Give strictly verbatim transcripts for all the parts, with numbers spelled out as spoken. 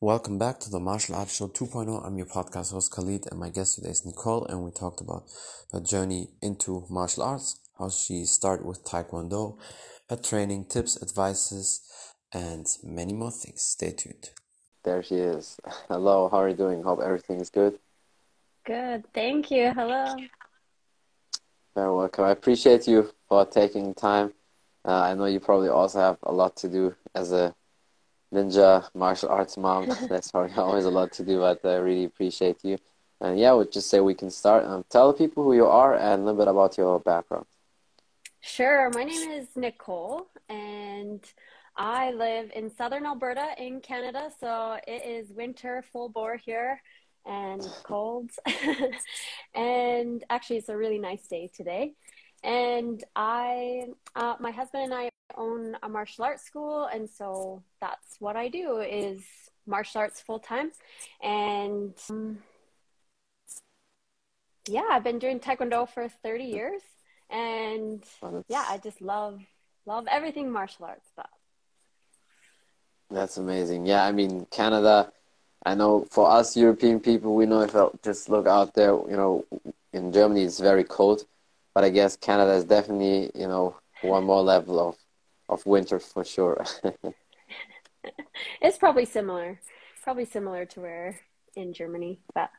Welcome back to the Martial Arts Show 2.0. I'm your podcast host Khalid, and my guest today is Nicole, and we talked about her journey into martial arts, how she started with Taekwondo, her training, tips, advices, and many more things. Stay tuned. There she is. Hello, how are you doing? Hope everything is good. Good, thank you. Hello. Very welcome. I appreciate you for taking time. Uh, I know you probably also have a lot to do as a ninja martial arts mom. That's probably always a lot to do, but I really appreciate you. And yeah, I would just say we can start. Um, tell the people who you are and a little bit about your background. Sure. My name is Nicole, and I live in southern Alberta in Canada. So it is winter full bore here and cold. And actually, it's a really nice day today. And I, uh, my husband and I own a martial arts school, and so that's what I do is martial arts full time. And um, yeah, I've been doing Taekwondo for thirty years, and Well, yeah, I that's, just love love everything martial arts stuff. that's amazing. Yeah, I mean, Canada, I know for us European people, we know if I just look out there, you know, in Germany it's very cold, but I guess Canada is definitely, you know, one more level of, of winter for sure. It's probably similar, probably similar to where in Germany, but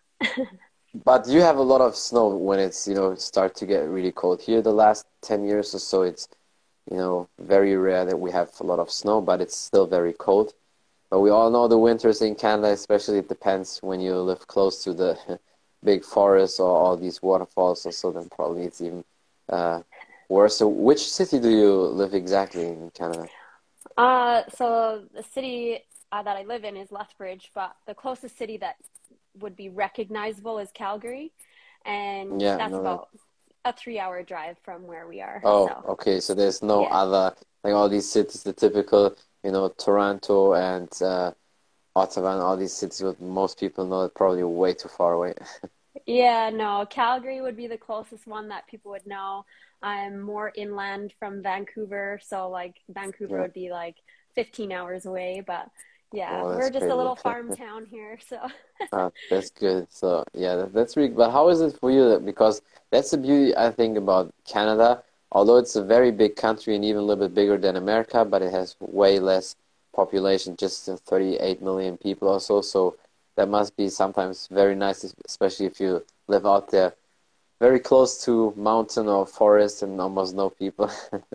But you have a lot of snow when it's, you know, start to get really cold. Here the last ten years or so, it's, you know, very rare that we have a lot of snow, but it's still very cold. But we all know the winters in Canada, especially it depends when you live close to the big forests or all these waterfalls or so, then probably it's even uh, worse. So which city do you live exactly in Canada? uh, so the city uh, that I live in is Lethbridge, but the closest city that would be recognizable is Calgary, and Yeah, that's no, that. about a three-hour drive from where we are. Oh, So okay. So there's no yeah. other, like all these cities, the typical, you know, Toronto and uh, Ottawa and all these cities what most people know are probably way too far away. Yeah, no, Calgary would be the closest one that people would know. I'm more inland from Vancouver, so like Vancouver Yeah. would be like fifteen hours away, but yeah, Oh, we're that's just a crazy. little farm town here, so Uh, that's good. So yeah, that, that's really. But how is it for you? Because that's the beauty I think about Canada. Although it's a very big country and even a little bit bigger than America, but it has way less population, just uh, thirty-eight million people or so. So that must be sometimes very nice, es- especially if you live out there, very close to mountain or forest and almost no people.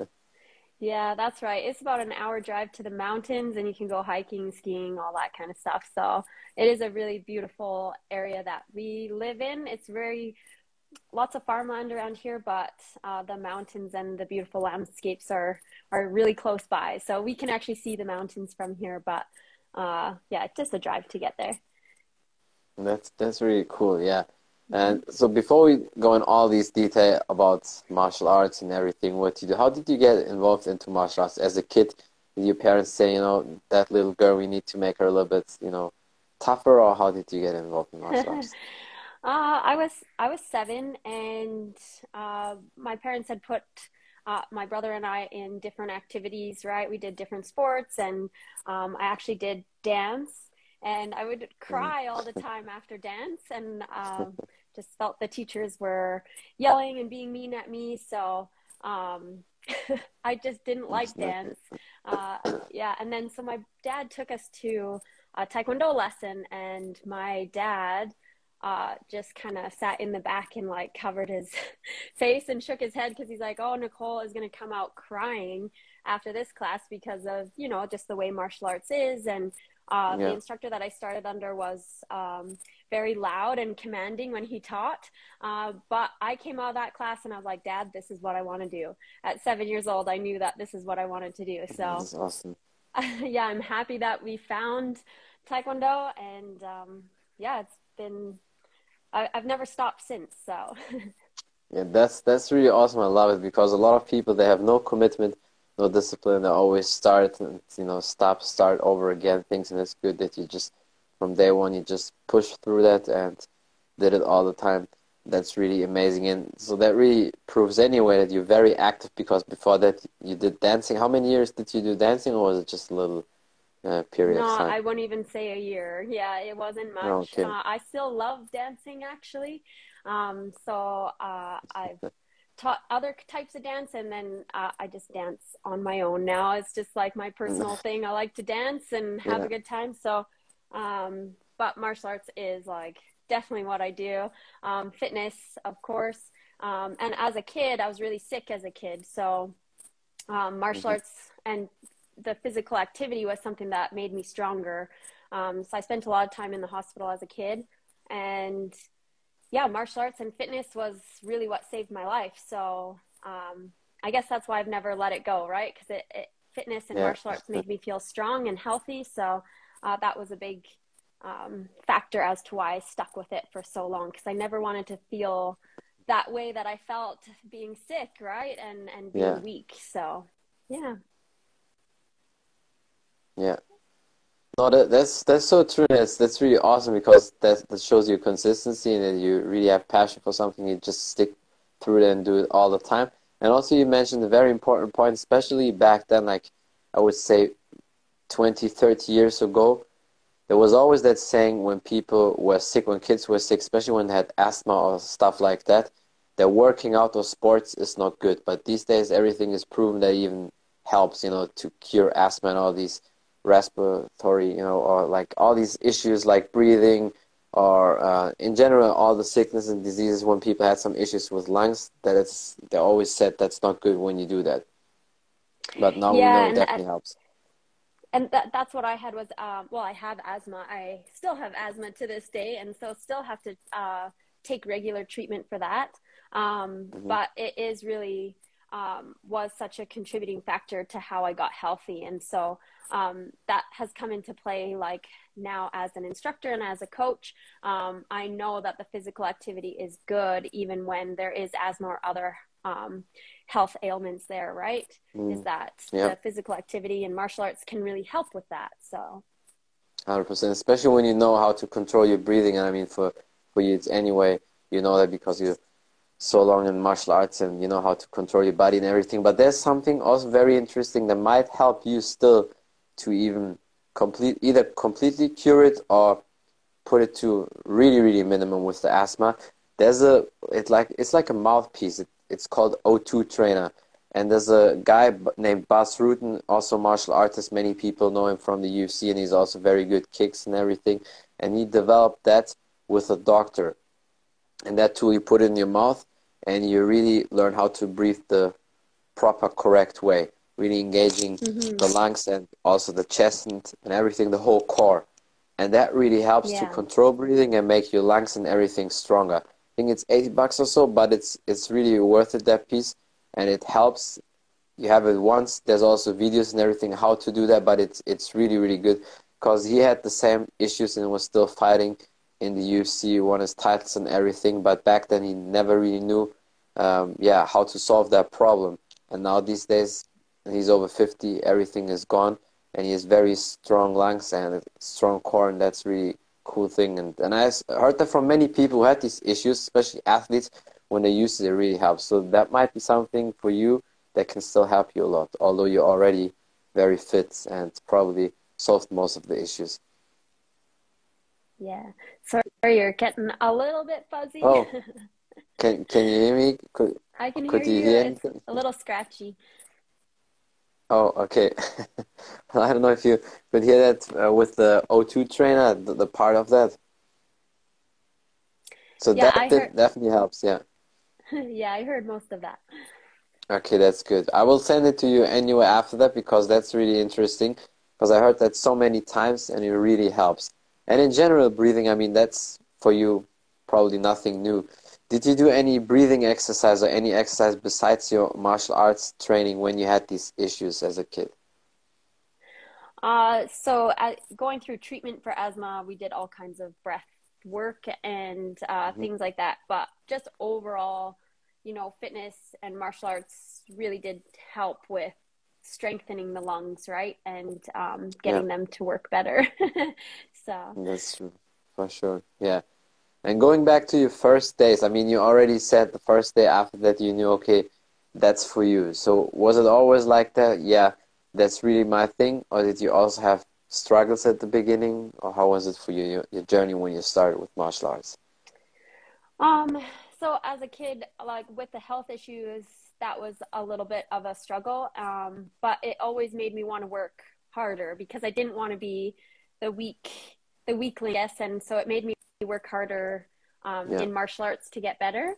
yeah, that's right. It's about an hour drive to the mountains, and you can go hiking, skiing, all that kind of stuff. So it is a really beautiful area that we live in. It's very lots of farmland around here, but uh, the mountains and the beautiful landscapes are are really close by. So we can actually see the mountains from here, but uh, yeah, it's just a drive to get there. That's that's really cool, yeah. Mhm. And so before we go in all these detail about martial arts and everything, what you do, how did you get involved into martial arts as a kid? Did your parents say, you know, that little girl, we need to make her a little bit, you know, tougher, or how did you get involved in martial uh, arts? I was I was seven, and uh, my parents had put uh, my brother and I in different activities. Right, we did different sports, and um, I actually did dance, and I would Mm. cry all the time after dance, and um, just felt the teachers were yelling and being mean at me. So um, I just didn't That's like not dance. good. Uh, yeah, and then so my dad took us to a taekwondo lesson, and my dad uh, just kind of sat in the back and like covered his face and shook his head because he's like, oh, Nicole is going to come out crying after this class because of, you know, just the way martial arts is. And uh, the Yeah. instructor that I started under was um, very loud and commanding when he taught. Uh, but I came out of that class and I was like, Dad, this is what I want to do. At seven years old, I knew that this is what I wanted to do. So That's awesome. yeah, I'm happy that we found Taekwondo, and um, yeah, it's been I, I've never stopped since. So Yeah, that's that's really awesome. I love it because a lot of people they have no commitment, no discipline. They always start and you know stop, start over again things, and it's good that you just from day one you just push through that and did it all the time. That's really amazing, and so that really proves anyway that you're very active because before that you did dancing. How many years did you do dancing, or was it just a little, uh, period No, of time? I wouldn't even say a year. Yeah, it wasn't Oh, much. okay. Uh, I still love dancing actually. Um, so uh, I've taught other types of dance, and then uh, I just dance on my own now. It's just like my personal thing. I like to dance and have Yeah. a good time. So, um, but martial arts is like definitely what I do. Um, fitness, of course. Um, and as a kid, I was really sick as a kid. So um, martial Hmm. arts and the physical activity was something that made me stronger. Um, so I spent a lot of time in the hospital as a kid, and yeah, martial arts and fitness was really what saved my life. So um, I guess that's why I've never let it go, right? Because it, it, fitness and Yeah. martial arts made me feel strong and healthy. So uh, that was a big um, factor as to why I stuck with it for so long, because I never wanted to feel that way that I felt being sick, right? And and Yeah. being weak. So yeah. Yeah. No, that, that's that's so true. That's that's really awesome because that that shows you consistency and that you really have passion for something. You just stick through it and do it all the time. And also, you mentioned a very important point, especially back then, like I would say twenty, thirty years ago, there was always that saying when people were sick, when kids were sick, especially when they had asthma or stuff like that, that working out or sports is not good. But these days, everything is proven that even helps, you know, to cure asthma and all these respiratory, you know, or like all these issues like breathing or uh, in general, all the sickness and diseases when people had some issues with lungs, that it's, they always said that's not good when you do that. But now we know Yeah, it and uh, definitely helps. and that that's what I had was um, well, I have asthma. I still have asthma to this day, and so still have to uh, take regular treatment for that. Um, Hmm. but it is really um, was such a contributing factor to how I got healthy, and so um, that has come into play. Like now, as an instructor and as a coach, um, I know that the physical activity is good, even when there is asthma or other um, health ailments there, right? Is Mm. that Yeah. the physical activity and martial arts can really help with that. So, one hundred percent, especially when you know how to control your breathing. And I mean, for, for you, it's anyway, you know that because you're so long in martial arts and you know how to control your body and everything. But there's something also very interesting that might help you still to even complete, either completely cure it or put it to really, really minimum with the asthma. There's a, it like, it's like a mouthpiece. It, it's called O two Trainer. And there's a guy b- named Bas Rutten, also martial artist. Many people know him from the U F C, and he's also very good kicks and everything. And he developed that with a doctor. And that tool you put in your mouth, and you really learn how to breathe the proper, correct way, really engaging hmm the lungs and also the chest and, and everything, the whole core. And that really helps to yeah, control breathing and make your lungs and everything stronger. I think it's eighty bucks or so, but it's it's really worth it, that piece. And it helps. You have it once. There's also videos and everything how to do that, but it's it's really, really good because he had the same issues and was still fighting in the U F C, won his titles and everything. But back then he never really knew, um, yeah, how to solve that problem. And now these days, he's over fifty, everything is gone, and he has very strong lungs and a strong core, and that's really cool thing. And and I s- heard that from many people who had these issues, especially athletes, when they use it, it really helps. So that might be something for you that can still help you a lot, although you're already very fit and probably solved most of the issues. yeah. Sorry, you're getting a little bit fuzzy. Oh, can can you hear me? Could I can hear could you you. hear It's anything? a little scratchy. Oh, okay. Well, I don't know if you could hear that uh, with the O two trainer, the, the part of that. So Yeah, that I heard. did, definitely helps, yeah. Yeah, I heard most of that. Okay, that's good. I will send it to you anyway after that because that's really interesting because I heard that so many times and it really helps. And in general, breathing, I mean, that's for you probably nothing new. Did you do any breathing exercise or any exercise besides your martial arts training when you had these issues as a kid? Uh, so uh, going through treatment for asthma, we did all kinds of breath work and uh, Hmm. things like that. But just overall, you know, fitness and martial arts really did help with strengthening the lungs, right? And um, Yeah, getting them to work better. So, that's true, for sure. Yeah. And going back to your first days, I mean, you already said the first day after that you knew, okay, that's for you. So was it always like that? Yeah, that's really my thing. Or did you also have struggles at the beginning, or how was it for you, your, your journey when you started with martial arts? Um, so as a kid, like with the health issues, that was a little bit of a struggle. Um, but it always made me want to work harder because I didn't want to be the weak, the weakling, yes. And so it made me work harder, um, Yeah, in martial arts to get better.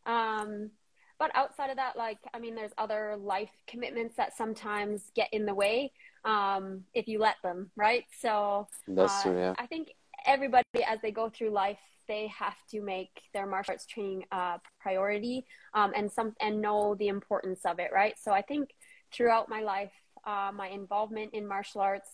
Um, but outside of that, like, I mean, there's other life commitments that sometimes get in the way, um, if you let them, right? So, that's uh, true. Yeah, I think everybody, as they go through life, they have to make their martial arts training a priority, um, and some and know the importance of it, right? So I think throughout my life, uh, my involvement in martial arts,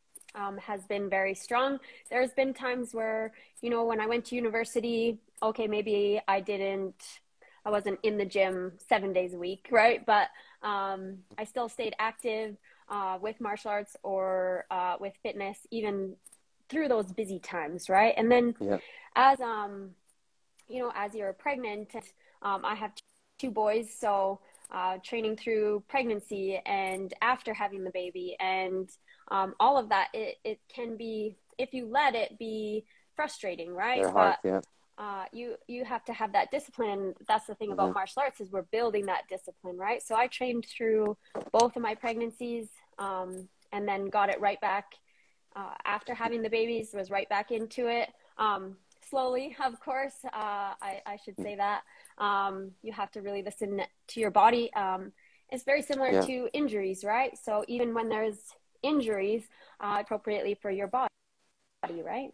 um, has been very strong. There's been times where, you know, when I went to university, okay, maybe I didn't, I wasn't in the gym seven days a week, right? But um, I still stayed active, uh, with martial arts or uh, with fitness, even through those busy times, right? And then yeah, as um, you know, as you're pregnant, um, I have two boys, so uh, training through pregnancy and after having the baby, and um, all of that, it, it can be, if you let it be, frustrating, right? very hard. But Yeah. uh, you you have to have that discipline. That's the thing Hmm. about martial arts, is we're building that discipline, right? So I trained through both of my pregnancies, um, and then got it right back uh, after having the babies, was right back into it. Um, slowly, of course, uh, I, I should say that. Um, you have to really listen to your body. Um, it's very similar Yeah. to injuries, right? So even when there's injuries, uh, appropriately for your body, right?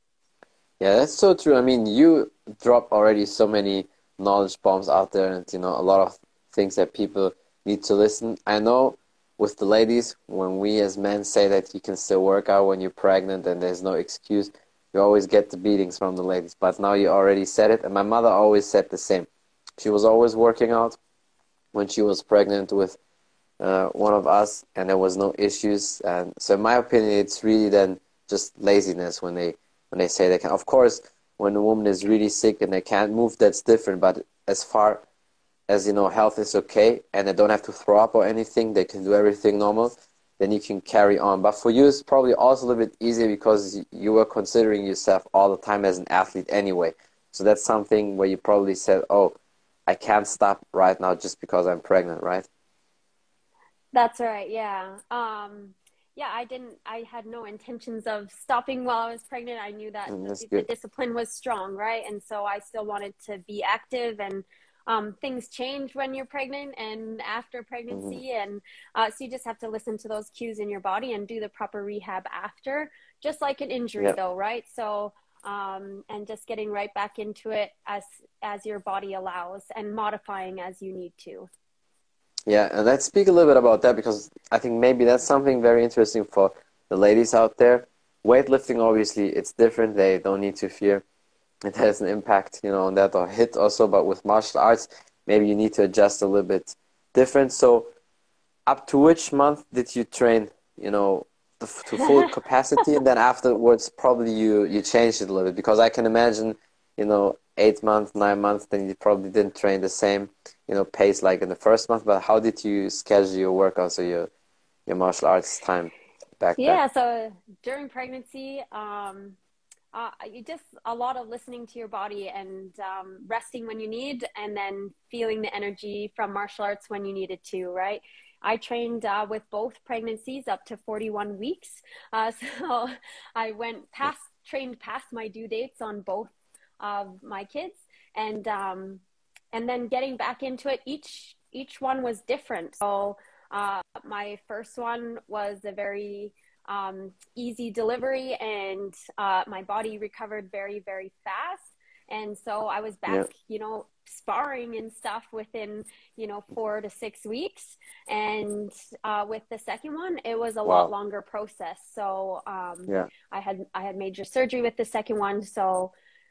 Yeah, that's so true. I mean, you drop already so many knowledge bombs out there, and you know a lot of things that people need to listen. I know with the ladies, when we as men say that you can still work out when you're pregnant and there's no excuse, you always get the beatings from the ladies. But now you already said it, and my mother always said the same. She was always working out when she was pregnant with uh, one of us, and there was no issues. And so, in my opinion, it's really then just laziness when they when they say they can. Of course, when a woman is really sick and they can't move, that's different. But as far as you know, health is okay, and they don't have to throw up or anything, they can do everything normal. Then you can carry on. But for you, it's probably also a little bit easier because you were considering yourself all the time as an athlete anyway. So that's something where you probably said, "Oh, I can't stop right now just because I'm pregnant," right? That's right. Yeah. Um, yeah, I didn't, I had no intentions of stopping while I was pregnant. I knew that Mm, that's the, the good. discipline was strong, right? And so I still wanted to be active, and um, things change when you're pregnant and after Hmm. pregnancy. And uh, so you just have to listen to those cues in your body and do the proper rehab after, just like an injury Yeah. though, right? So, um, and just getting right back into it as, as your body allows, and modifying as you need to. Yeah, and let's speak a little bit about that because I think maybe that's something very interesting for the ladies out there. Weightlifting, obviously, it's different. They don't need to fear it has an impact, you know, on that or hit also. But with martial arts, maybe you need to adjust a little bit different. So, up to which month did you train, you know, to, to full capacity, and then afterwards probably you you changed it a little bit because I can imagine, you know, eight months, nine months, then you probably didn't train the same, you know, pace like in the first month. But how did you schedule your workouts or your your martial arts time back then? Yeah, so during pregnancy, um, uh, you just a lot of listening to your body, and um, resting when you need, and then feeling the energy from martial arts when you needed to, right? I trained uh, with both pregnancies up to forty-one weeks. Uh, so I went past, trained past my due dates on both of my kids. And, um, and then getting back into it, each, each one was different. So uh, my first one was a very um, easy delivery, and uh, my body recovered very, very fast. And so I was back, Yeah, you know, sparring and stuff within, you know, four to six weeks. And uh, with the second one, it was a lot wow, longer process. So um, yeah, I had I had major surgery with the second one, so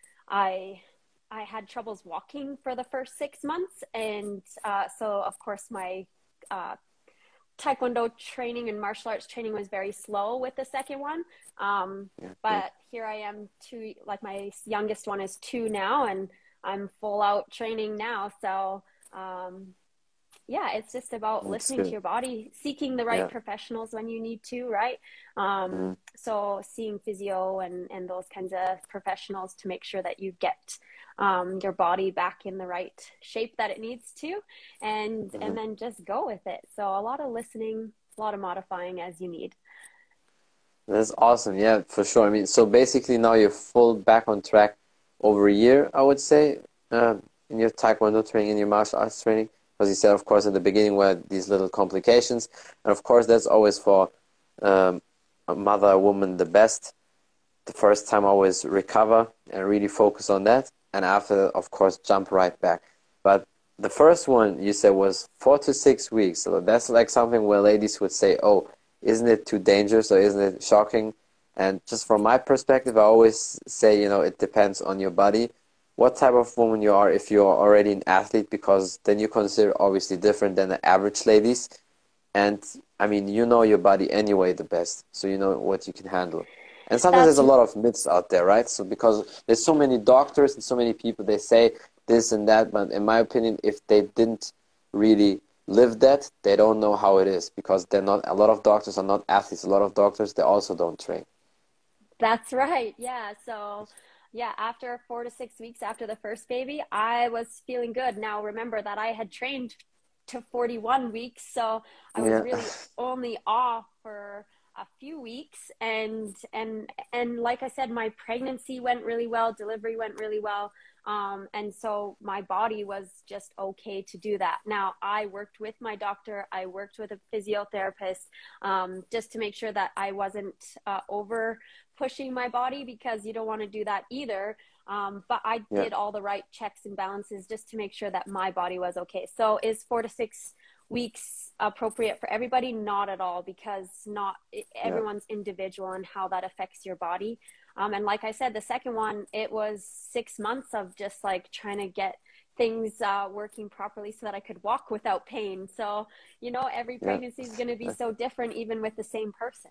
I I had troubles walking for the first six months, and uh, so of course my uh, Taekwondo training and martial arts training was very slow with the second one. Um, yeah, yeah. but here I am, two, like my youngest one is two now, and I'm full out training now. So, um, yeah, it's just about That's listening to good. your body, seeking the right Yeah. professionals when you need to, right? Um, Mm. so seeing physio and, and those kinds of professionals to make sure that you get um, your body back in the right shape that it needs to, and Mhm. and then just go with it. So a lot of listening, a lot of modifying as you need. That's awesome. Yeah, for sure. I mean, so basically now you're full back on track over a year, I would say, uh, in your Taekwondo training, in your martial arts training. Because you said, of course, at the beginning were these little complications. And of course, that's always for um, a mother, a woman, the best. The first time always recover and really focus on that. And after, of course, jump right back. But the first one you said was four to six weeks. So that's like something where ladies would say, oh, isn't it too dangerous or isn't it shocking? And just from my perspective, I always say, you know, it depends on your body, what type of woman you are, if you're already an athlete, because then you consider obviously different than the average ladies. And I mean, you know your body anyway the best, so you know what you can handle. And sometimes there's That's a lot of myths out there, right? So because there's so many doctors and so many people, they say this and that, but in my opinion, if they didn't really live that, they don't know how it is, because they're not, a lot of doctors are not athletes. A lot of doctors, they also don't train. That's right. Yeah. So, yeah, after four to six weeks after the first baby, I was feeling good. Now, remember that I had trained to forty-one weeks, so I was Yeah. really only off for a few weeks. And and and like I said, my pregnancy went really well, delivery went really well. Um, and so my body was just okay to do that. Now, I worked with my doctor, I worked with a physiotherapist, um, just to make sure that I wasn't uh, over pushing my body, because you don't want to do that either. Um, but I Yeah. did all the right checks and balances just to make sure that my body was okay. So is four to six weeks appropriate for everybody? Not at all, because not Yeah. everyone's individual and how that affects your body. Um, and like I said, the second one, it was six months of just like trying to get things uh, working properly so that I could walk without pain. So, you know, every Yeah. pregnancy is going to be so different, even with the same person.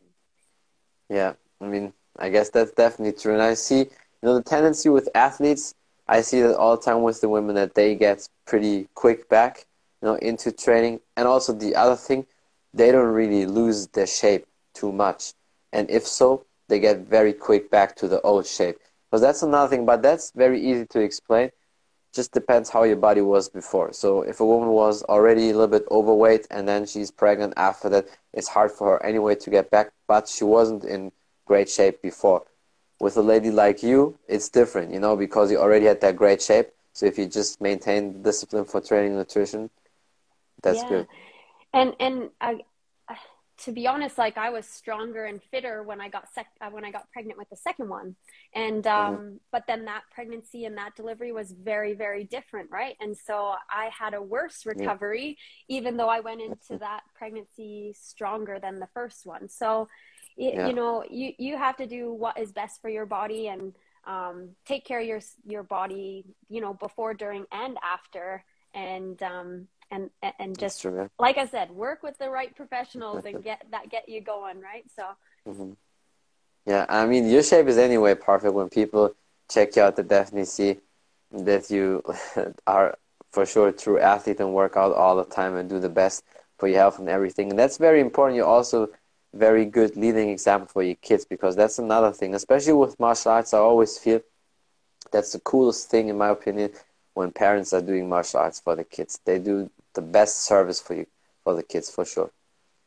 Yeah, I mean, I guess that's definitely true. And I see, you know, the tendency with athletes, I see that all the time with the women, that they get pretty quick back, you know, into training. And also the other thing, they don't really lose their shape too much. And if so, they get very quick back to the old shape. Because that's another thing, but that's very easy to explain. Just depends how your body was before. So if a woman was already a little bit overweight and then she's pregnant after that, it's hard for her anyway to get back, but she wasn't in great shape before. With a lady like you, it's different, you know, because you already had that great shape. So if you just maintain the discipline for training and nutrition, that's Yeah. good. And and I, uh, to be honest, like I was stronger and fitter when I got sec uh, when I got pregnant with the second one, and Hmm. um, but then that pregnancy and that delivery was very very different, right? And so I had a worse Yeah, recovery, even though I went that's into it. that pregnancy stronger than the first one. So, y- you Yeah, know, you you have to do what is best for your body and um, take care of your your body, you know, before, during, and after, and um, and and that's just true. like I said, work with the right professionals Yeah. and get that get you going, right? So Hmm. Yeah, I mean, your shape is anyway perfect. When people check you out, they definitely see that you are for sure a true athlete and work out all the time and do the best for your health and everything. And that's very important. You're also very good leading example for your kids, because that's another thing, especially with martial arts. I always feel that's the coolest thing, in my opinion, when parents are doing martial arts for the kids. They do the best service for you, for the kids, for sure.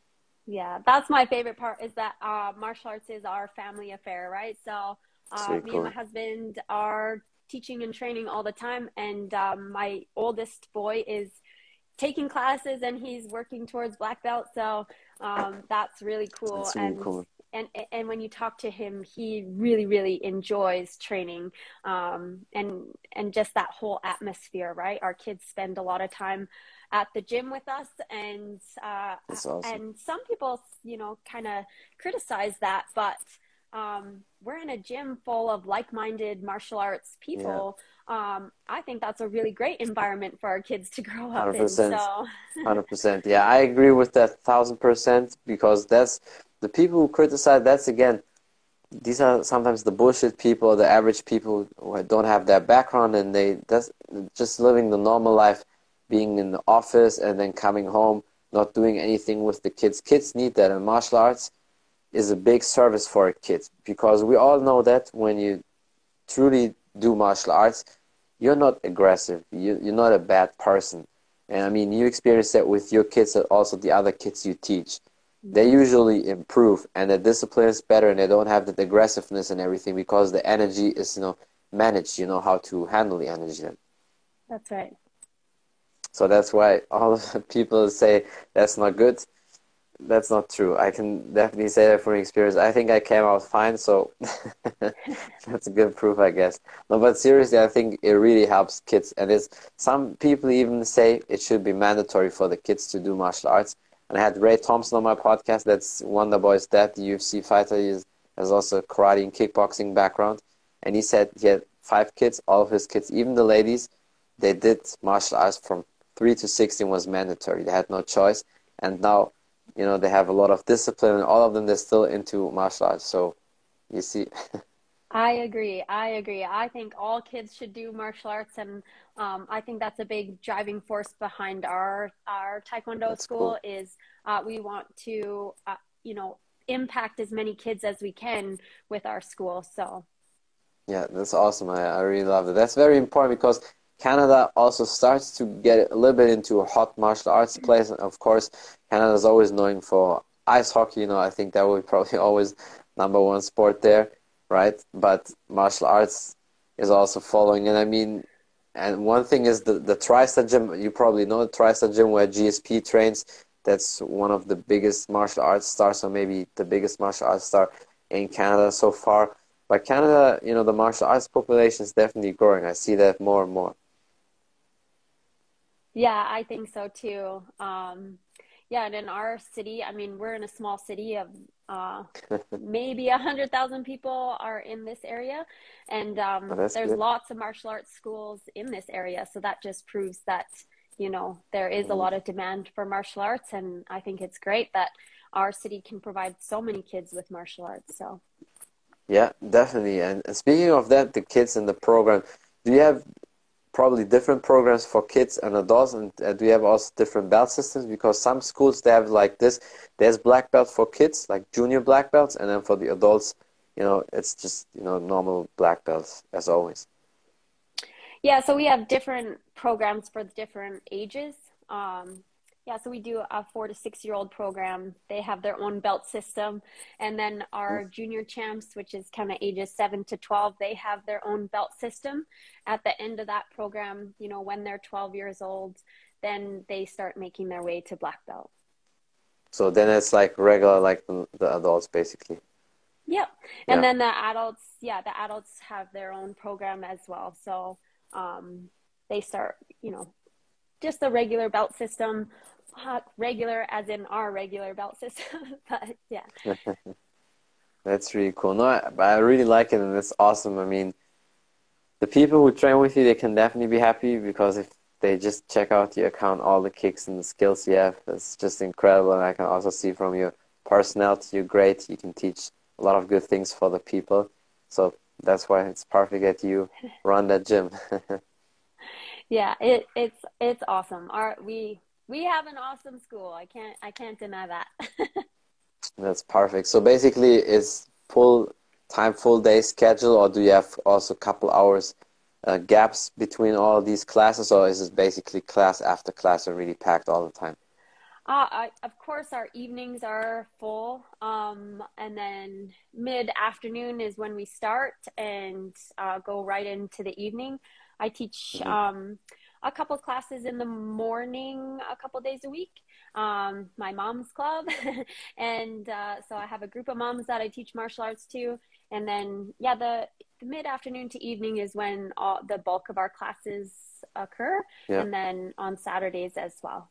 yeah, that's my favorite part, is that uh, martial arts is our family affair, right? So It's uh, really me and my cool. husband are teaching and training all the time, and um, my oldest boy is taking classes and he's working towards black belt. So um, that's really cool. It's really And cool. and and when you talk to him, he really really enjoys training, um, and and just that whole atmosphere, right? Our kids spend a lot of time at the gym with us, and uh, It's awesome. and some people, you know, kind of criticize that, but um, we're in a gym full of like-minded martial arts Yeah. people. um, I think that's a really great environment for our kids to grow up in. 100%. So, one hundred percent. Yeah, I agree with that one thousand percent, because that's the people who criticize, that's again, these are sometimes the bullshit people, the average people who don't have that background, and they that's just living the normal life being in the office and then coming home, not doing anything with the kids. Kids need that, and martial arts is a big service for kids, because we all know that when you truly do martial arts, you're not aggressive. You, you're not a bad person. And I mean, you experience that with your kids and also the other kids you teach. They usually improve, and the discipline is better, and they don't have the aggressiveness and everything, because the energy is, you know, managed. You know how to handle the energy then. That's right. So that's why all of the people say that's not good. That's not true. I can definitely say that from experience. I think I came out fine, so that's a good proof, I guess. No, but seriously, I think it really helps kids. And it's, some people even say it should be mandatory for the kids to do martial arts. And I had Ray Thompson on my podcast. That's Wonder Boy's dad, the U F C fighter. He has also a karate and kickboxing background. And he said he had five kids, all of his kids, even the ladies, they did martial arts from three to sixteen was mandatory. They had no choice. And now, you know, they have a lot of discipline, and all of them, they're still into martial arts. So, you see. I agree. I agree. I think all kids should do martial arts, and um, I think that's a big driving force behind our our Taekwondo That's school. cool. Is uh, we want to, uh, you know, impact as many kids as we can with our school. So. Yeah, that's awesome. I, I really love it. That's very important, because Canada also starts to get a little bit into a hot martial arts place. And of course, Canada is always known for ice hockey. You know, I think that will be probably always number one sport there, right? But martial arts is also following. And I mean, and one thing is the, the TriStar Gym. You probably know the TriStar Gym where G S P trains. That's one of the biggest martial arts stars, or maybe the biggest martial arts star in Canada so far. But Canada, you know, the martial arts population is definitely growing. I see that more and more. Yeah, I think so too. Um, yeah, and in our city, I mean, we're in a small city of uh, maybe a hundred thousand people are in this area, and Oh, um, that's there's good. lots of martial arts schools in this area. So that just proves that, you know, there is a Mm. lot of demand for martial arts, and I think it's great that our city can provide so many kids with martial arts. So. Yeah, definitely. And, and speaking of that, the kids in the program, do you have probably different programs for kids and adults, and uh, do you have also different belt systems? Because some schools, they have like this, there's black belt for kids, like junior black belts, and then for the adults, you know, it's just, you know, normal black belts as always. Yeah, so we have different programs for different ages. Um, yeah, so we do a four to six year old program. They have their own belt system. And then Mm. our junior champs, which is kind of ages seven to twelve, they have their own belt system. At the end of that program, you know, when they're twelve years old, then they start making their way to black belt. So then it's like regular, like the, the adults, basically. Yep. And Yeah. then the adults, yeah, the adults have their own program as well. So um, they start, you know, just a regular belt system, uh, regular as in our regular belt system. But yeah. That's really cool. No, I, I really like it, and it's awesome. I mean, the people who train with you, they can definitely be happy, because if they just check out your account, all the kicks and the skills you have, it's just incredible. And I can also see from your personality, you're great. You can teach a lot of good things for the people. So that's why it's perfect that you run that gym. Yeah, it, it's it's awesome. Our we we have an awesome school. I can't I can't deny that. That's perfect. So basically, it's full time, full day schedule, or do you have also a couple hours uh, gaps between all these classes, or is it basically class after class and really packed all the time? Uh, I, of course, our evenings are full, um, and then mid-afternoon is when we start and uh, go right into the evening. I teach Hmm. um, a couple classes in the morning, a couple days a week, um, my mom's club, and uh, so I have a group of moms that I teach martial arts to, and then yeah, the, the mid-afternoon to evening is when all, the bulk of our classes occur, Yeah. and then on Saturdays as well.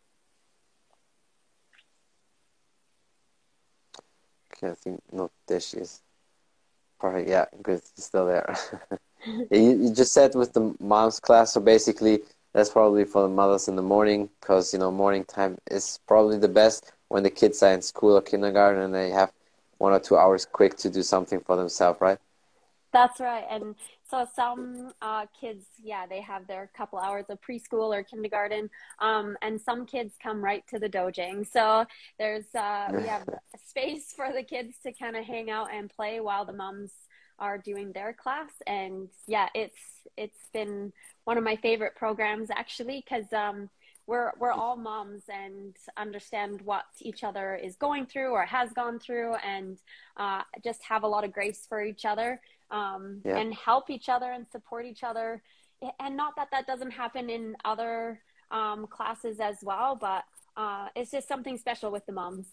Okay, I think no, there she is. Perfect. Yeah, good. She's still there. Yeah, you, you just said with the mom's class, so basically that's probably for the mothers in the morning, because you know morning time is probably the best when the kids are in school or kindergarten and they have one or two hours quick to do something for themselves, right? That's right. And So some uh, kids, yeah, they have their couple hours of preschool or kindergarten, um, and some kids come right to the dojang. So there's uh, we have a space for the kids to kind of hang out and play while the moms are doing their class. And yeah, it's it's been one of my favorite programs actually, because um, we're we're all moms and understand what each other is going through or has gone through, and uh, just have a lot of grace for each other, um, Yeah. and help each other and support each other. And not that that doesn't happen in other um, classes as well, but uh, it's just something special with the moms.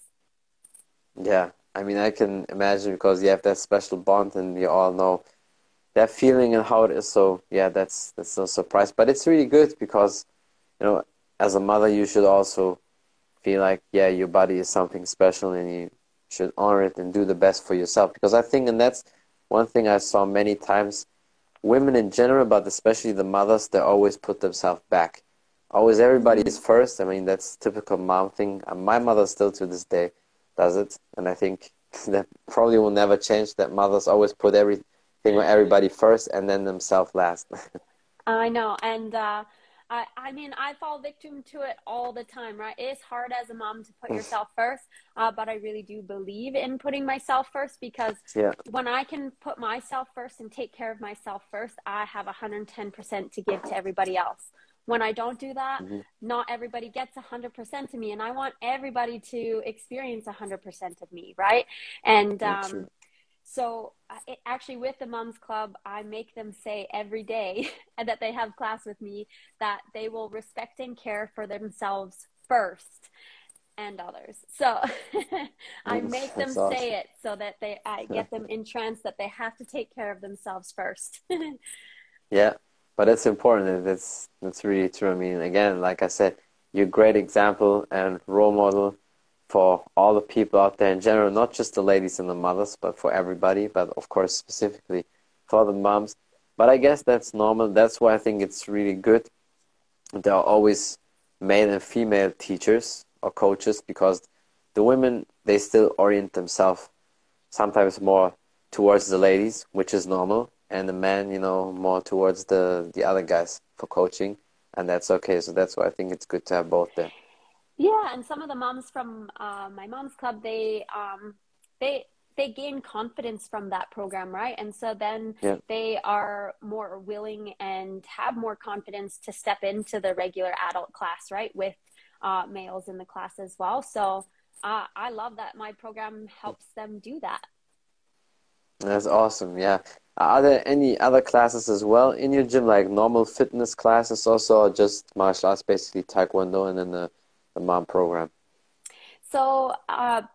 Yeah. I mean, I can imagine because you have that special bond and you all know that feeling and how it is. So yeah, that's that's no surprise. But it's really good because, you know, as a mother, you should also feel like, yeah, your body is something special and you should honor it and do the best for yourself. Because I think, and that's one thing I saw many times, women in general, but especially the mothers, they always put themselves back. Always everybody Mm-hmm. is first. I mean, that's typical mom thing. And my mother still to this day does it. And I think that probably will never change, that mothers always put everything or everybody first and then themselves last. I know. And uh, I, I mean, I fall victim to it all the time, right? It's hard as a mom to put yourself first, uh, but I really do believe in putting myself first, because Yeah. when I can put myself first and take care of myself first, I have one hundred ten percent to give to everybody else. When I don't do that, Hmm. not everybody gets one hundred percent of me, and I want everybody to experience one hundred percent of me, right? And Yeah, um, true. so uh, it, actually with the Moms Club, I make them say every day and that they have class with me that they will respect and care for themselves first and others. So I Mm, make them that's awesome. say it so that they I get them entranced that they have to take care of themselves first. Yeah, but it's important. and That's that's really true. I mean, again, like I said, you're a great example and role model for all the people out there in general, not just the ladies and the mothers, but for everybody, but of course specifically for the moms. But I guess that's normal. That's why I think it's really good. There are always male and female teachers or coaches because the women, they still orient themselves sometimes more towards the ladies, which is normal, and the men, you know, more towards the the other guys for coaching, and that's okay. So that's why I think it's good to have both there. Yeah, and some of the moms from uh, my mom's club, they um, they they gain confidence from that program, right? And so then Yeah. they are more willing and have more confidence to step into the regular adult class, right, with uh, males in the class as well. So uh, I love that my program helps them do that. That's awesome. Yeah. Are there any other classes as well in your gym, like normal fitness classes also, or just martial arts, basically Taekwondo and then the, the mom program? So, uh,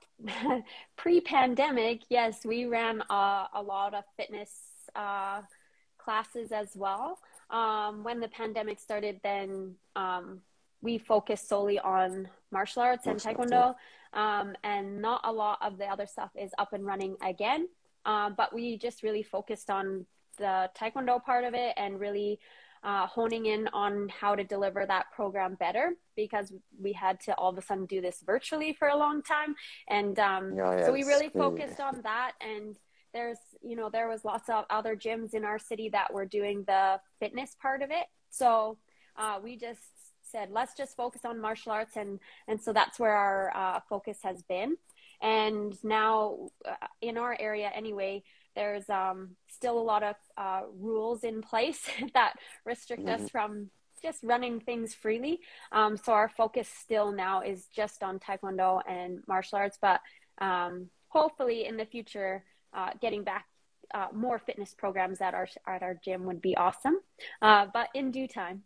pre-pandemic, yes, we ran a, a lot of fitness uh, classes as well. Um, when the pandemic started, then um, we focused solely on martial arts and Martial arts, yeah. taekwondo, um, and not a lot of the other stuff is up and running again. Um, but we just really focused on the taekwondo part of it and really uh, honing in on how to deliver that program better, because we had to all of a sudden do this virtually for a long time. And um, Yeah, yeah, so we it's really really, focused on that. And there's, you know, there was lots of other gyms in our city that were doing the fitness part of it. So uh, we just said, let's just focus on martial arts. And, and so that's where our uh, focus has been. And now uh, in our area anyway, there's um, still a lot of uh, rules in place that restrict us mhm. from just running things freely. Um, so our focus still now is just on taekwondo and martial arts, but um, hopefully in the future, uh, getting back uh, more fitness programs at our at our gym would be awesome. Uh, but in due time.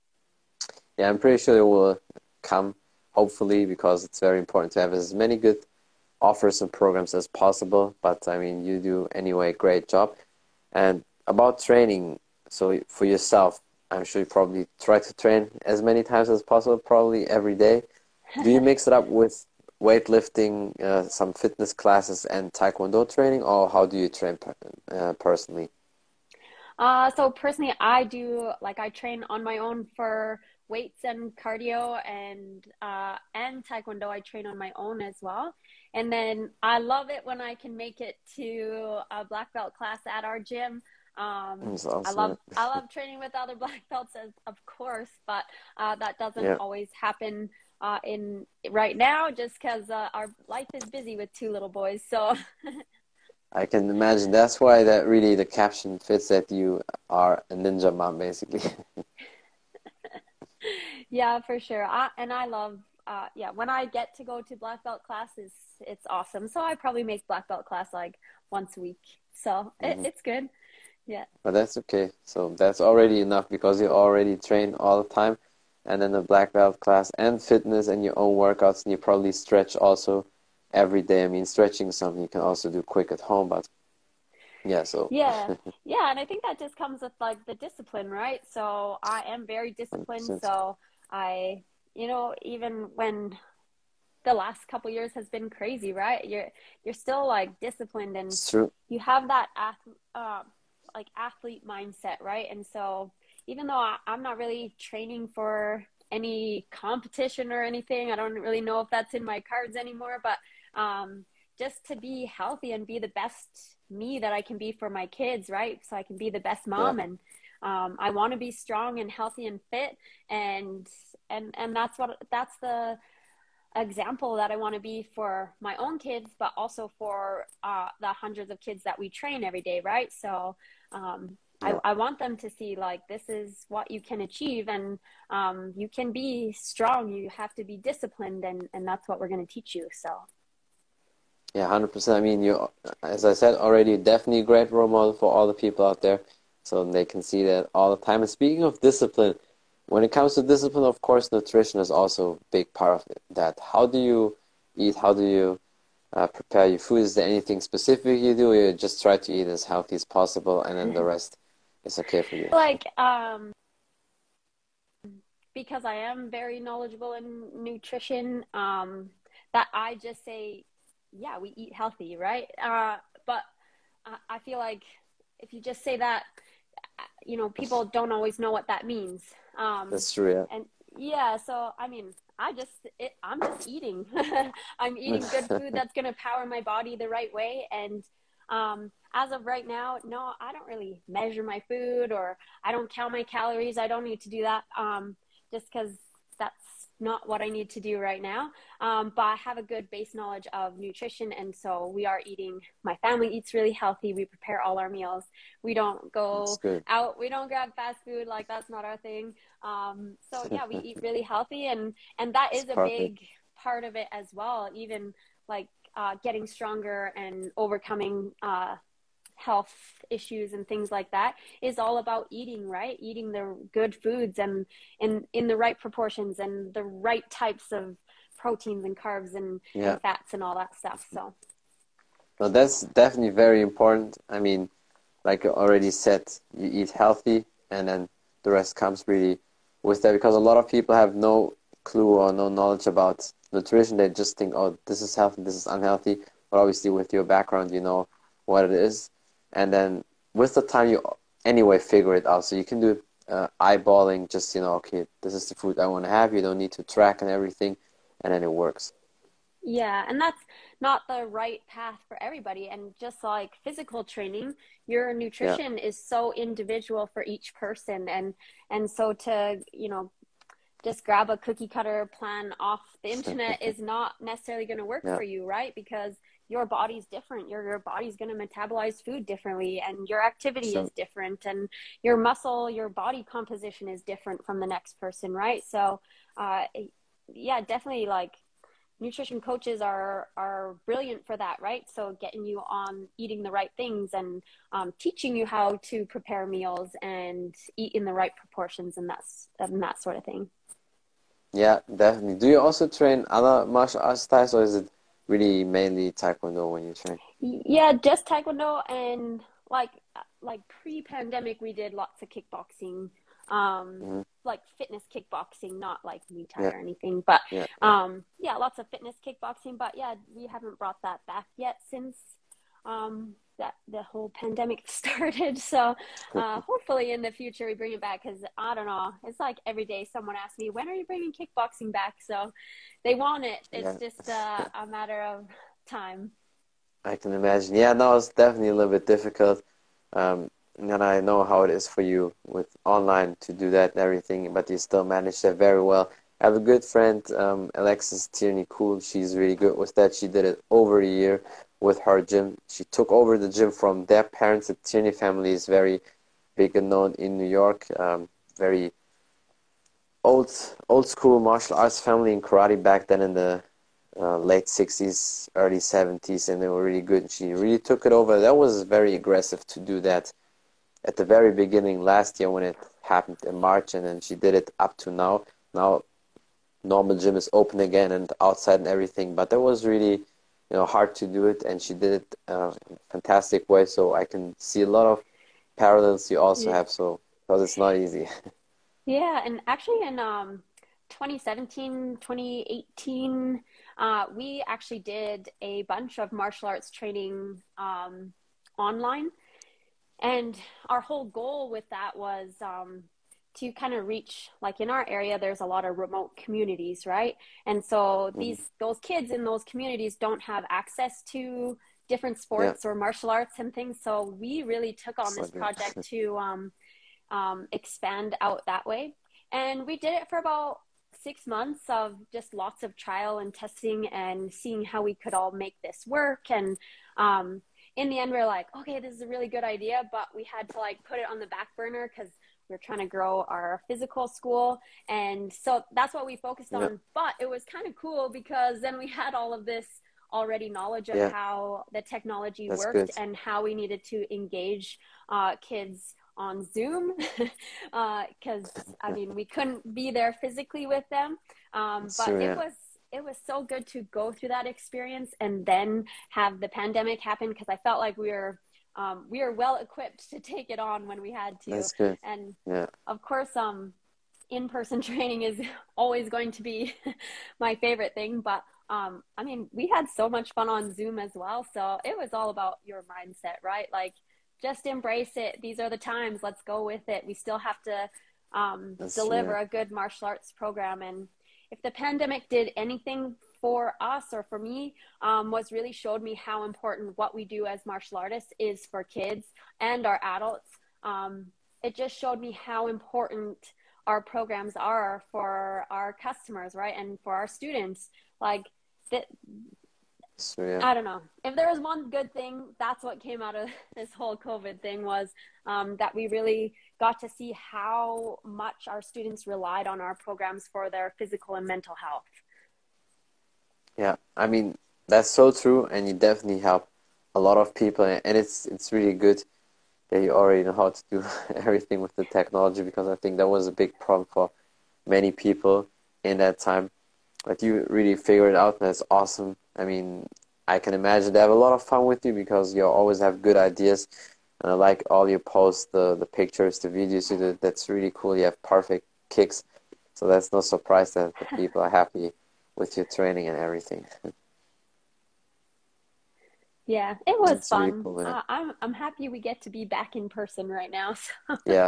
Yeah, I'm pretty sure it will come, hopefully, because it's very important to have as many good offers and programs as possible. But I mean, you do anyway, great job. And about training, so for yourself, I'm sure you probably try to train as many times as possible, probably every day. Do you mix it up with weightlifting, uh, some fitness classes, and taekwondo training, or how do you train per uh, personally? Uh, so personally, I do like I train on my own for weights and cardio, and uh, and taekwondo. I train on my own as well. And then I love it when I can make it to a black belt class at our gym. Um, It's I awesome. love I love training with other black belts, as, of course, but uh, that doesn't Yeah, always happen uh, in right now, just because uh, our life is busy with two little boys. So I can imagine. That's why that really the caption fits that you are a ninja mom, basically. yeah, for sure. I, and I love, uh, yeah, when I get to go to black belt classes, it's awesome. So I probably make black belt class like once a week. So it, Hmm. it's good. Yeah. But that's okay. So that's already enough because you already train all the time, and then the black belt class and fitness and your own workouts, and you probably stretch also every day. I mean, stretching is something you can also do quick at home, but yeah, so Yeah. Yeah. And I think that just comes with like the discipline, right? So I am very disciplined. one hundred percent. So I, you know, even when the last couple years has been crazy, right? You're you're still like disciplined and It's true. you have that ath uh, like athlete mindset, right? And so even though I, I'm not really training for any competition or anything, I don't really know if that's in my cards anymore, but um, just to be healthy and be the best me that I can be for my kids, right? So I can be the best Yeah, mom and um, I want to be strong and healthy and fit and and and that's what that's the example that I want to be for my own kids, but also for uh, the hundreds of kids that we train every day, right? So um, I, yeah, I want them to see like this is what you can achieve and um, you can be strong. You have to be disciplined, and, and that's what we're going to teach you. So, yeah, one hundred percent. I mean, you, as I said already, definitely a great role model for all the people out there, so they can see that all the time. And speaking of discipline, when it comes to discipline, of course, nutrition is also a big part of it. That how do you eat? How do you uh, prepare your food? Is there anything specific you do? Or you just try to eat as healthy as possible, and then the rest is okay for you. like, um, because I am very knowledgeable in nutrition, um, that I just say, yeah, we eat healthy, right? Uh, but I, I feel like if you just say that, you know, people don't always know what that means. Um, That's true, and yeah, so I mean, I just, it, I'm just eating. I'm eating good yeah. food that's going to power my body the right way. And um, as of right now, no, I don't really measure my food or I don't count my calories. I don't need to do that um, just because that's not what I need to do right now. Um, but I have a good base knowledge of nutrition. And so we are eating, my family eats really healthy. We prepare all our meals. We don't That's go good. out. We don't grab fast food. Like that's not our thing. Um, so yeah, we eat really healthy and, and that It's is a perfect. big part of it as well. Even like uh, getting stronger and overcoming uh, health issues and things like that is all about eating, right? Eating the good foods and in in the right proportions and the right types of proteins and carbs and Yeah. and fats and all that stuff. So No, that's definitely very important. I mean, like you already said, you eat healthy and then the rest comes really with that because a lot of people have no clue or no knowledge about nutrition. They just think, oh, this is healthy, this is unhealthy. But obviously with your background, you know what it is. And then with the time, you anyway figure it out. So you can do uh, eyeballing, just, you know, okay, this is the food I want to have. You don't need to track and everything. And then it works. yeah, and that's not the right path for everybody. And just like physical training, your Yeah. nutrition is so individual for each person. And and so to, you know, just grab a cookie cutter plan off the internet is not necessarily going to work Yeah. for you, right? Because your body's different. Your your body's going to metabolize food differently and your activity is So, different and your muscle, your body composition is different from the next person, right? So, uh yeah, definitely like nutrition coaches are are brilliant for that, right? So getting you on eating the right things and um, teaching you how to prepare meals and eat in the right proportions and that's and that sort of thing. yeah, definitely. Do you also train other martial arts styles, or is it really mainly Taekwondo when you train? Yeah, just Taekwondo and like like pre-pandemic we did lots of kickboxing, um, Hmm. like fitness kickboxing, not like Muay Thai Yeah, or anything, but yeah, yeah. um, yeah, lots of fitness kickboxing. But yeah, we haven't brought that back yet since um, that the whole pandemic started. So uh, hopefully in the future we bring it back because I don't know, it's like every day someone asks me, when are you bringing kickboxing back? So they want it. It's Yeah. just uh, a matter of time. I can imagine. Yeah, no, it's definitely a little bit difficult. Um, and I know how it is for you with online to do that and everything, but you still managed that very well. I have a good friend, um, Alexis Tierney Cool. She's really good with that. She did it over a year with her gym. She took over the gym from their parents. The Tierney family is very big and known in New York. Um, very old, old school martial arts family in karate back then in the uh, late sixties, early seventies, and they were really good. She really took it over. That was very aggressive to do that at the very beginning last year when it happened in March, and then she did it up to now. Now normal gym is open again and outside and everything, but that was really, you know, hard to do it, and she did it uh, in a fantastic way. So I can see a lot of parallels you also Yeah. have. So because it's not easy. Yeah, and actually in um, twenty seventeen, twenty eighteen, uh, we actually did a bunch of martial arts training um, online. And our whole goal with that was um, to kind of reach, like in our area, there's a lot of remote communities, right? And so Mhm. these those kids in those communities don't have access to different Yeah, sports or martial arts and things. So we really took on so this good. project to um, um, expand out that way. And we did it for about six months of just lots of trial and testing and seeing how we could all make this work. And um, in the end, we were like, okay, this is a really good idea, but we had to like put it on the back burner because we were trying to grow our physical school. And so that's what we focused Yeah, on. But it was kind of cool because then we had all of this already knowledge of yeah, how the technology that's worked good. and how we needed to engage uh, kids on Zoom because uh, I mean we couldn't be there physically with them, um, It's but true. it Yeah, was it was so good to go through that experience and then have the pandemic happen because I felt like we were um, we were well equipped to take it on when we had to, that's good. and Yeah, of course um, in-person training is always going to be my favorite thing, but um, I mean, we had so much fun on Zoom as well. So it was all about your mindset, right? Like, just embrace it. These are the times. Let's go with it. We still have to um, that's true. deliver Yeah, a good martial arts program. And if the pandemic did anything for us or for me, um, was really showed me how important what we do as martial artists is for kids and our adults. Um, it just showed me how important our programs are for our customers, right? And for our students. Like, that, that's true. Yeah. I don't know. If there was one good thing, that's what came out of this whole COVID thing was um, that we really got to see how much our students relied on our programs for their physical and mental health. Yeah, I mean that's so true, and you definitely help a lot of people, and and it's it's really good that you already know how to do everything with the technology because I think that was a big problem for many people in that time. But you really figured it out, and that's awesome. I mean, I can imagine they have a lot of fun with you because you always have good ideas, and I like all your posts, the the pictures, the videos you do. That's really cool. You have perfect kicks, so that's no surprise that the people are happy with your training and everything. Yeah, it was It's really fun. cool, yeah. Uh, I'm I'm happy we get to be back in person right now. So. Yeah,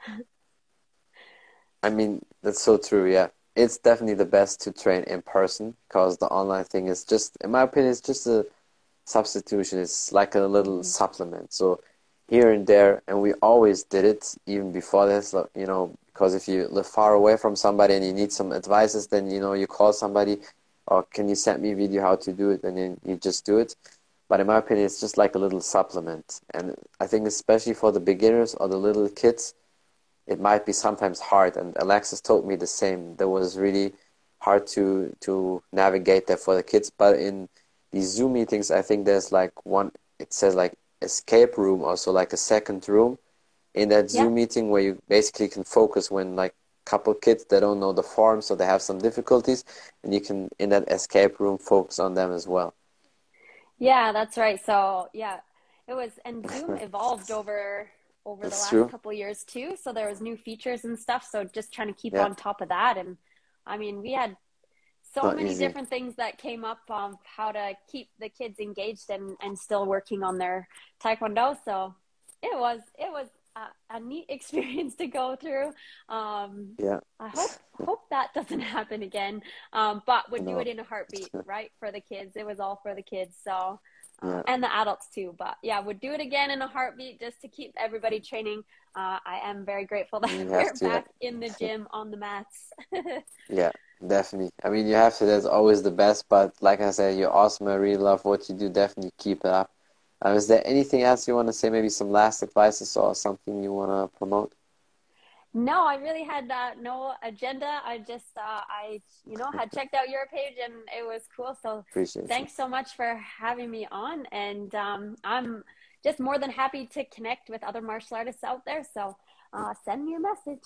I mean, that's so true, yeah. It's definitely the best to train in person because the online thing is just, in my opinion, it's just a substitution. It's like a little Mhm. supplement. So here and there, and we always did it even before this, like, you know, because if you live far away from somebody and you need some advices, then, you know, you call somebody, or can you send me a video how to do it, and then you just do it. But in my opinion, it's just like a little supplement. And I think especially for the beginners or the little kids, it might be sometimes hard. And Alexis told me the same. That was really hard to to navigate that for the kids. But in these Zoom meetings, I think there's like one, it says like escape room, also like a second room in that Yeah. Zoom meeting where you basically can focus when like couple kids that don't know the form, so they have some difficulties, and you can in that escape room focus on them as well. Yeah, that's right. So yeah, it was, and Zoom evolved over over the That's last true. couple years too. So there was new features and stuff. So just trying to keep Yeah, on top of that. And I mean, we had so not many easy. different things that came up um how to keep the kids engaged and and still working on their taekwondo. So it was it was a, a neat experience to go through. Um, Yeah, I hope hope that doesn't happen again. Um, but I would do know. it in a heartbeat, right? For the kids, it was all for the kids. So uh, Yeah. and the adults too. But yeah, would do it again in a heartbeat just to keep everybody training. Uh, I am very grateful that You have we're to. back in the gym on the mats. Yeah, definitely. I mean, you have to. That's always the best. But like I said, you're awesome. I really love what you do. Definitely keep it up. Uh, is there anything else you want to say? Maybe some last advices or something you want to promote? No, I really had uh, no agenda. I just, uh, I, you know, had checked out your page and it was cool. So Appreciate you. thanks so much for having me on. And um, I'm just more than happy to connect with other martial artists out there. So uh, send me a message.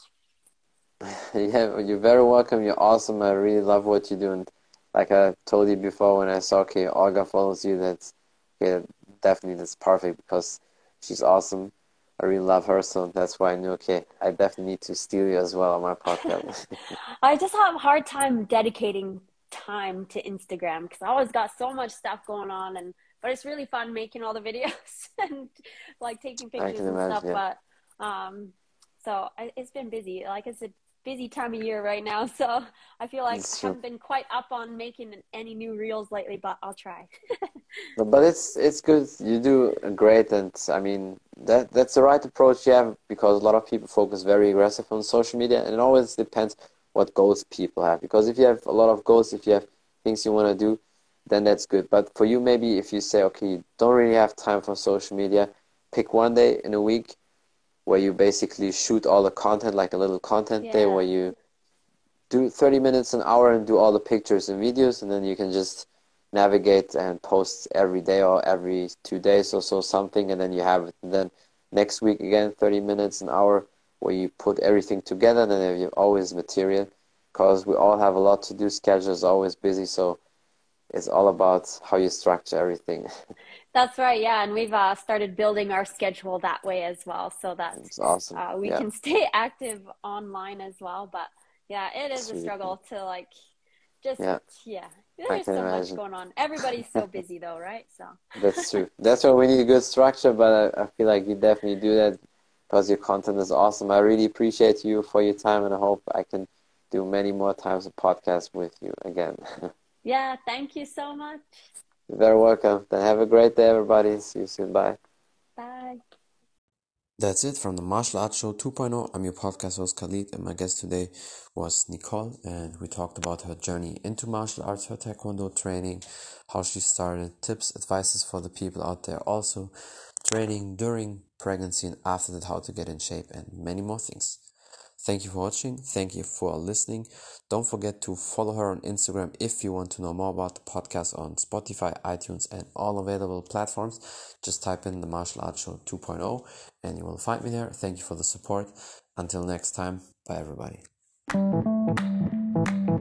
Yeah, you're very welcome. You're awesome. I really love what you do. And like I told you before, when I saw, okay, Olga follows you, that's, yeah, definitely that's perfect because she's awesome. I really love her, so that's why I knew, okay, I definitely need to steal you as well on my podcast. I just have a hard time dedicating time to Instagram because I always got so much stuff going on, and but it's really fun making all the videos and like taking I pictures can and stuff. imagine, yeah. But um, so I, it's been busy. Like it's a busy time of year right now, so I feel like I It's true. haven't been quite up on making any new reels lately, but I'll try. No, but it's it's good. You do great, and I mean that that's the right approach you have because a lot of people focus very aggressive on social media, and it always depends what goals people have. Because if you have a lot of goals, if you have things you want to do, then that's good. But for you, maybe if you say, okay, you don't really have time for social media, pick one day in a week where you basically shoot all the content, like a little content day where Yeah. you do thirty minutes an hour and do all the pictures and videos, and then you can just navigate and post every day or every two days or so something, and then you have it. And then next week again thirty minutes an hour where you put everything together, and then you have always material because we all have a lot to do. Schedule is always busy, so it's all about how you structure everything. That's right, yeah, and we've uh, started building our schedule that way as well, so that It's awesome. uh, we Yeah, can stay active online as well. But yeah, it is it's a really cool. struggle to like just Yeah, yeah. I There's can so much imagine. going on. Everybody's so busy though, right? So That's true. That's why we need a good structure, but I, I feel like you definitely do that because your content is awesome. I really appreciate you for your time, and I hope I can do many more times a podcast with you again. yeah, thank you so much. You're very welcome. Then have a great day, everybody. See you soon. Bye. Bye. That's it from the Martial Arts Show 2.0. I'm your podcast host Khalid, and my guest today was Nicole, and we talked about her journey into martial arts, her taekwondo training, how she started, tips, advices for the people out there, also training during pregnancy and after that, how to get in shape, and many more things. Thank you for watching. Thank you for listening. Don't forget to follow her on Instagram if you want to know more about the podcast on Spotify, iTunes, and all available platforms. Just type in the Martial Arts Show 2.0 and you will find me there. Thank you for the support. Until next time, bye everybody.